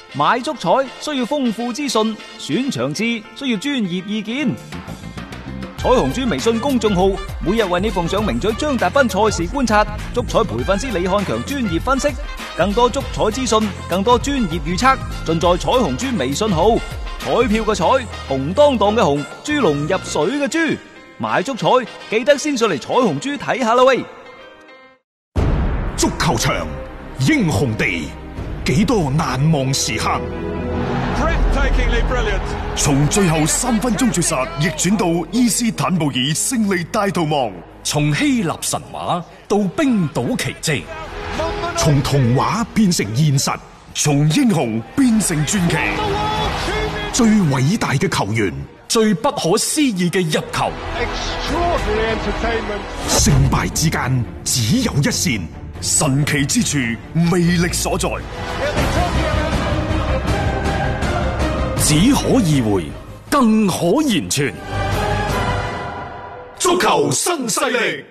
買足彩需要豐富資訊，選場次需要專業意見。彩虹豬微信公眾號每日為你奉上名嘴張達斌賽事觀察，足彩培訓師李漢強專業分析，更多足彩資訊，更多專業預測，盡在彩虹豬微信號。彩票嘅彩，紅當當嘅紅，豬籠入水嘅豬，買足彩記得先上嚟彩虹豬睇下啦喂！ 足球場，英雄地，幾多難忘時刻。從最後3分鐘絕殺逆轉到伊斯坦布爾勝利大逃亡， 從希臘神話到冰島奇蹟， 從童話變成現實，從英雄變成傳奇。最偉大嘅球員， 最不可思議嘅入球， 勝敗之間只有一線，神奇之處魅力所在， 只可意會，更可言傳。 足球新勢力。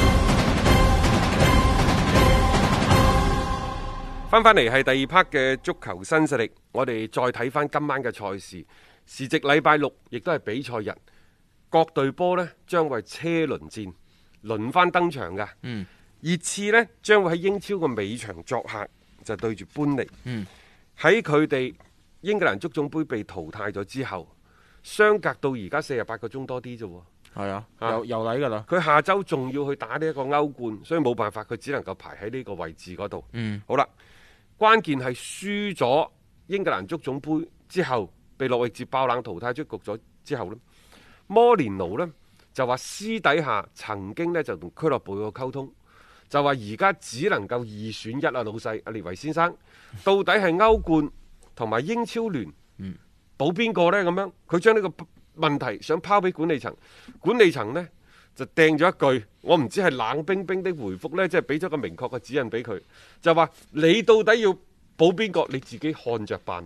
翻嚟係第二 part 嘅足球新勢力，我哋再睇翻今晚嘅賽事，時值禮拜六，亦都係比賽日，各隊波呢將會車輪戰，輪番登場嘅。熱刺呢將會喺英超嘅尾場作客，就對住般尼。喺佢哋英格蘭足總杯被淘汰咗之後，相隔到而家48個鐘多啲啫。 係啊，又嚟噶啦。 佢下周仲要去打呢一個歐冠，所以冇辦法，佢只能夠排喺呢個位置嗰度。好啦。關鍵係輸咗英格蘭足總杯之後，被諾域治爆冷淘汰出局咗之後呢，摩連奴呢就話私底下曾經呢就同俱樂部有溝通，就話而家只能夠2選1啊，老細阿列維先生，到底係歐冠同埋英超聯保邊個呢？咁樣佢將呢個問題想拋俾管理層，管理層呢就掟咗一句，我唔知係冷冰冰的回覆呢，即係俾咗個明確嘅指引俾佢，就話你到底要保邊個，你自己看着辦。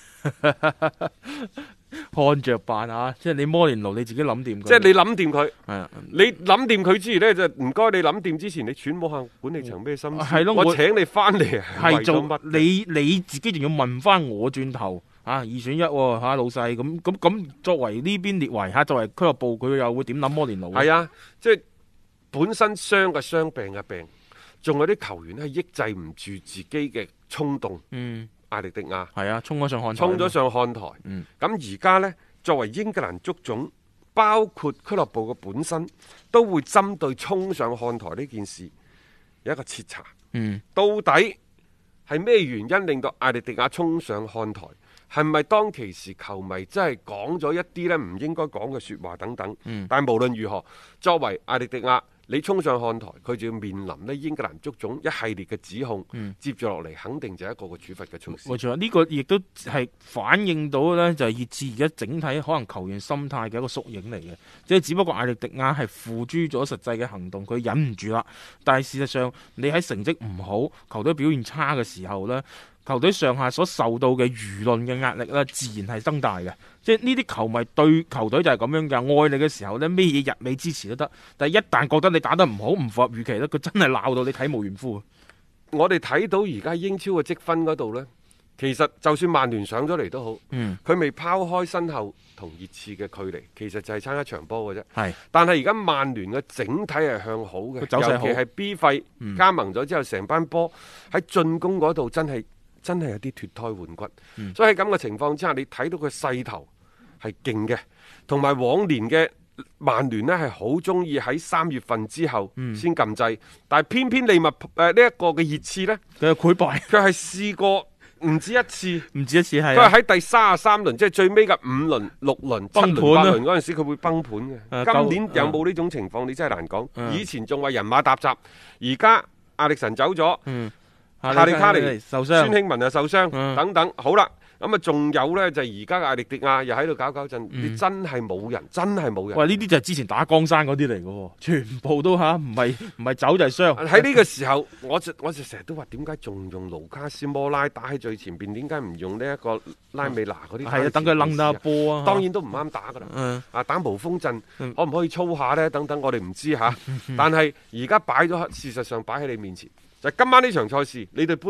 看着辦啊！即係你摩連奴你自己諗掂佢， 即係你諗掂佢。 係啊， 你諗掂佢之餘呢，就唔該你諗掂之前，你揣摩下管理層咩心思。 係咯， 我請你翻嚟係做乜？你自己仲要問翻我轉頭。2選1喎，老細咁作為呢邊列維作為俱樂部，佢又會點諗摩連奴？ 係啊，即係本身傷嘅傷，病嘅病，仲有啲球員係抑制唔住自己嘅衝動。艾力迪亞係啊，衝咗上看台。 咁而家呢，作為英格蘭足總，包括俱樂部嘅本身，都會針對衝上看台呢件事有一個徹查。到底係咩原因令到艾力迪亞衝上看台？係咪當其時球迷真係講咗一啲呢唔應該講嘅說話等等？但係無論如何，作為艾力迪亞，你衝上看台，佢就要面臨呢英格蘭足總一系列嘅指控。接住落嚟，肯定就係一個個處罰嘅措施。 冇錯，呢個亦都係反映到呢，就係熱刺而家整體可能球員心態嘅一個縮影嚟嘅。即係只不過艾力迪亞係付諸咗實際嘅行動，佢忍唔住啦。但係事實上，你喺成績唔好、球隊表現差嘅時候呢，球隊上下所受到嘅輿論嘅壓力咧，自然係增大嘅。即係呢啲球迷對球隊就係咁樣嘅，愛你嘅時候呢，咩嘢日美支持都得，但係一旦覺得你打得唔好、唔符合預期咧，佢真係鬧到你體無完膚。 我哋睇到而家英超嘅積分嗰度呢，其實就算曼聯上咗嚟都好，佢未拋開身後同熱刺嘅距離，其實就係差一場波嘅啫。但係而家曼聯嘅整體係向好嘅，尤其係 B 費加盟咗之後，成班波喺進攻嗰度真係有啲脫胎換骨。所以喺咁嘅情況之下，你睇到佢勢頭係勁嘅，同埋往年嘅曼聯呢係好中意喺3月份之後先撳掣，但係偏偏利物浦呢一個嘅熱刺呢， 佢係潰敗， 佢係試過唔止一次， 係佢係喺第33輪，即係最尾嘅5輪、6輪、7輪、8輪嗰陣時，佢會崩盤嘅。今年有冇呢種情況？你真係難講。以前仲話人馬沓雜，而家亞歷臣走咗，夏利卡尼受傷， 孫興文又受傷，等等。好啦。咁啊，仲有呢，就係而家嘅艾力迪亞又喺度搞震，你真係冇人，真係冇人。 喂，呢啲就係之前打江山嗰啲嚟嘅，全部都唔係走就係傷。 喺呢個時候，我就成日都話，點解仲用盧卡斯摩拉打喺最前邊？點解唔用呢一個拉美娜嗰啲？ 係啊，等佢掕下波啊。 當然都唔啱打噶啦。打無鋒陣，可唔可以操下呢？等等，我哋唔知吓。但係而家擺咗，事實上擺喺你面前，就係今晚呢場賽事，你對般尼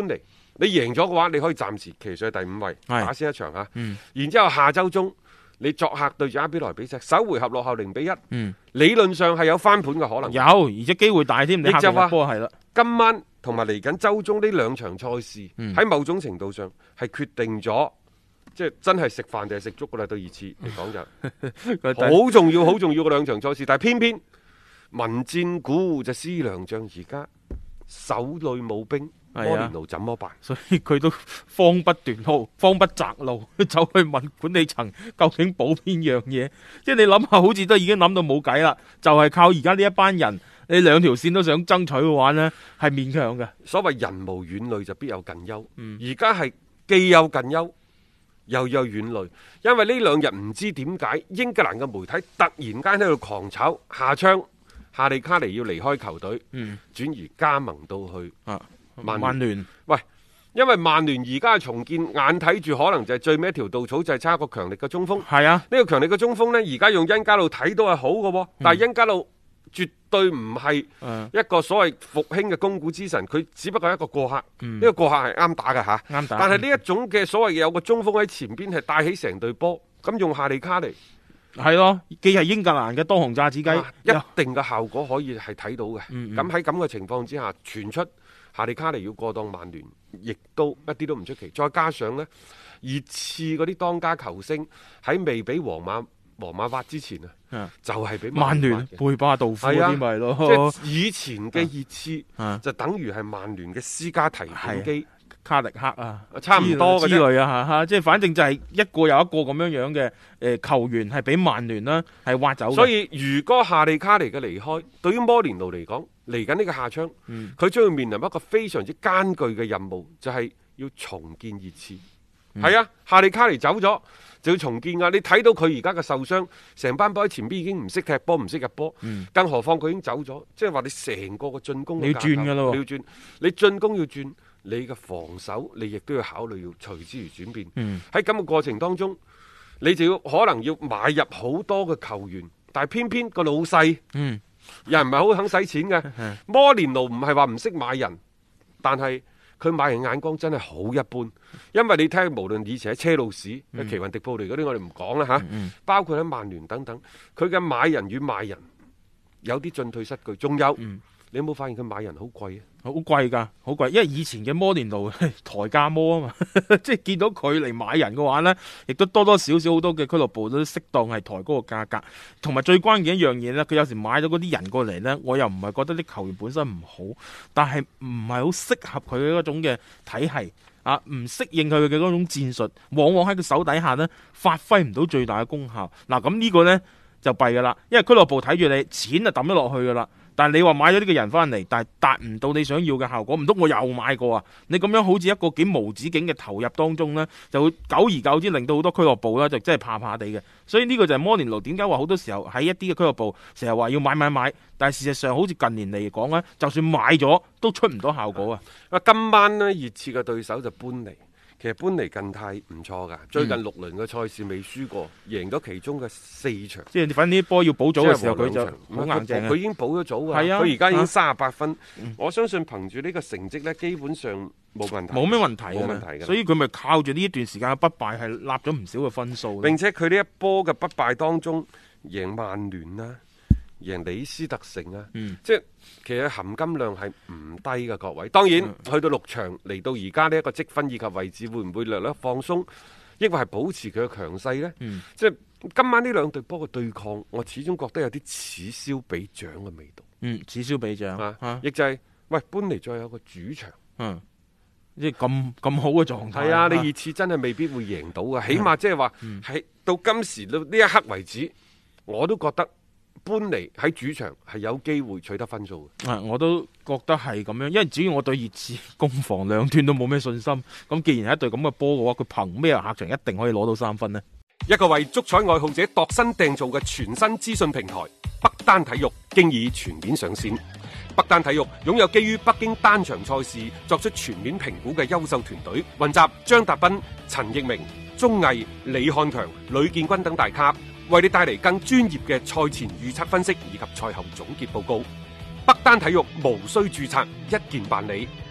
你贏咗嘅話，你可以暫時騎上去第5位， 係打先一場嚇。然之後下週中你作客對住阿比萊比錫，首回合落後0-1，理論上係有翻盤嘅可能。 有，而且機會大添。你就話波係啦， 今晚同埋嚟緊週中呢2場賽事，喺某種程度上係決定咗，即係真係食飯定係食粥噶啦。對熱刺嚟講就好重要、好重要嘅2場賽事，但係偏偏民戰鼓就思良將，而家手裏冇兵。摩連奴怎麼辦？ 所以佢都慌不斷號，慌不擇路，走去問管理層究竟補邊樣嘢。即係你諗下，好似都已經諗到冇計啦，就係靠而家呢一班人，你2條線都想爭取嘅話呢，係勉強嘅。 所謂人無遠慮就必有近憂，而家係既有近憂又有遠慮，因為呢2日唔知點解英格蘭嘅媒體突然間喺度狂炒下窗，夏利卡尼要離開球隊，轉移加盟到去曼聯。喂，因為曼聯而家重建，眼睇住可能就係最尾一條稻草，就係差一個強力嘅中鋒。 係啊， 呢個強力嘅中鋒呢，而家用恩加路睇到係好嘅，但係恩加路絕對唔係一個所謂復興嘅攻股之神，佢只不過係一個過客。呢個過客係啱打嘅嚇，啱打。但係呢一種嘅所謂有個中鋒喺前邊係帶起成隊波，咁用夏利卡尼係咯，既係英格蘭嘅當紅炸子雞， 一定嘅效果可以係睇到嘅。咁喺咁嘅情況之下，傳出夏利卡尼要過檔曼聯，亦都一啲都唔出奇。再加上呢，熱刺嗰啲當家球星喺未俾皇馬挖之前就係俾曼聯貝巴道夫嗰啲咪咯。 即係以前嘅熱刺就等於係曼聯嘅私家提款機。 卡力克啊， 差唔多之類啊，即係反正就係一個又一個咁樣嘅球員係俾曼聯啦係挖走。 所以如果夏利卡尼嘅離開，對於摩連奴嚟講，嚟緊呢個夏窗，佢將要面臨一個非常之艱巨嘅任務，就係要重建熱刺。係啊，夏利卡尼走咗就要重建㗎。你睇到佢而家嘅受傷，成班波喺前邊已經唔識踢波，唔識入波，更何況佢已經走咗，即係話你成個嘅進攻你要轉㗎咯， 你要轉，你進攻要轉。你嘅防守，你亦都要考慮要隨之而轉變。喺咁嘅過程當中，你就要可能要買入好多嘅球員，但係偏偏個老細，又唔係好肯使錢嘅。摩連奴唔係話唔識買人，但係佢買人眼光真係好一般。因為你睇，無論以前喺車路士、奇雲迪布尼嗰啲，我哋唔講啦嚇，包括喺曼聯等等，佢嘅買人與賣人有啲進退失據，仲有。你有冇發現佢買人好貴啊？ 好貴㗎，好貴，因為以前嘅摩連奴抬價摩啊嘛，即係見到佢嚟買人嘅話呢，亦都多多少少好多嘅俱樂部都適當係抬高個價格，同埋最關鍵一樣嘢呢，佢有時買咗嗰啲人過嚟呢，我又唔係覺得啲球員本身唔好，但係唔係好適合佢嘅嗰種嘅體系啊，唔適應佢嘅嗰種戰術，往往喺佢手底下呢，發揮唔到最大嘅功效。嗱，咁呢個呢，就弊㗎啦，因為俱樂部睇住你錢就抌咗落去㗎啦。但係你話買咗呢個人翻嚟，但係達唔到你想要嘅效果，唔通我又買過啊？你咁樣好似一個幾無止境嘅投入當中呢，就會久而久之令到好多俱樂部呢就真係怕怕地嘅。所以呢個就係摩連奴點解話好多時候喺一啲嘅俱樂部成日話要買，但係事實上好似近年嚟講呢，就算買咗都出唔到效果啊！ 今晚呢，熱刺嘅對手就搬嚟。其實搬嚟近態唔錯噶，最近6輪嘅賽事未輸過，贏咗其中嘅4場。 即係反正啲波要補組嘅時候，佢就好硬淨。 佢已經補咗組㗎，佢而家已經38分。我相信憑住呢個成績呢，基本上冇問題。 冇咩問題， 冇問題嘅。 所以佢咪靠住呢一段時間嘅不敗係立咗唔少嘅分數。 並且佢呢一波嘅不敗當中，贏曼聯啦，贏李斯特城啊，即係其實含金量係唔低嘅，各位。當然去到6場嚟到而家呢一個積分以及位置，會唔會略略放鬆，抑或係保持佢嘅強勢呢？即係今晚呢兩隊波嘅對抗，我始終覺得有啲此消彼長嘅味道。 此消彼長亦就係喂搬嚟再有個主場， 即係咁好嘅狀態。 係啊，你熱刺真係未必會贏到嘅，起碼即係話喺到今時到呢一刻為止，我都覺得。搬嚟喺主場係有機會取得分數嘅， 我都覺得係咁樣，因為只要我對熱刺攻防兩端都冇咩信心，咁既然係一隊咁嘅波嘅話，佢憑咩客場一定可以攞到3分呢？ 一個為足彩愛好者度身訂造嘅全新資訊平台北單體育，經已全面上線。北單體育擁有基於北京單場賽事作出全面評估嘅優秀團隊，雲集張達斌、陳奕明、鐘毅、李漢強、呂建軍等大咖，為你帶嚟更專業嘅賽前預測分析以及賽後總結報告。北單體育無需註冊，一鍵辦理。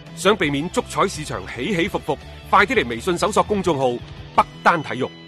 想避免足彩市場起起伏伏，快啲嚟微信搜索公眾號北單體育。